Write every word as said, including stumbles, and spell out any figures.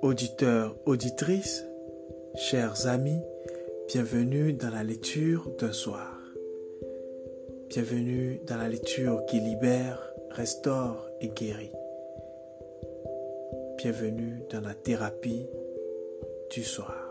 Auditeurs, auditrices, chers amis, bienvenue dans la lecture d'un soir. Bienvenue dans la lecture qui libère, restaure et guérit. Bienvenue dans la thérapie du soir.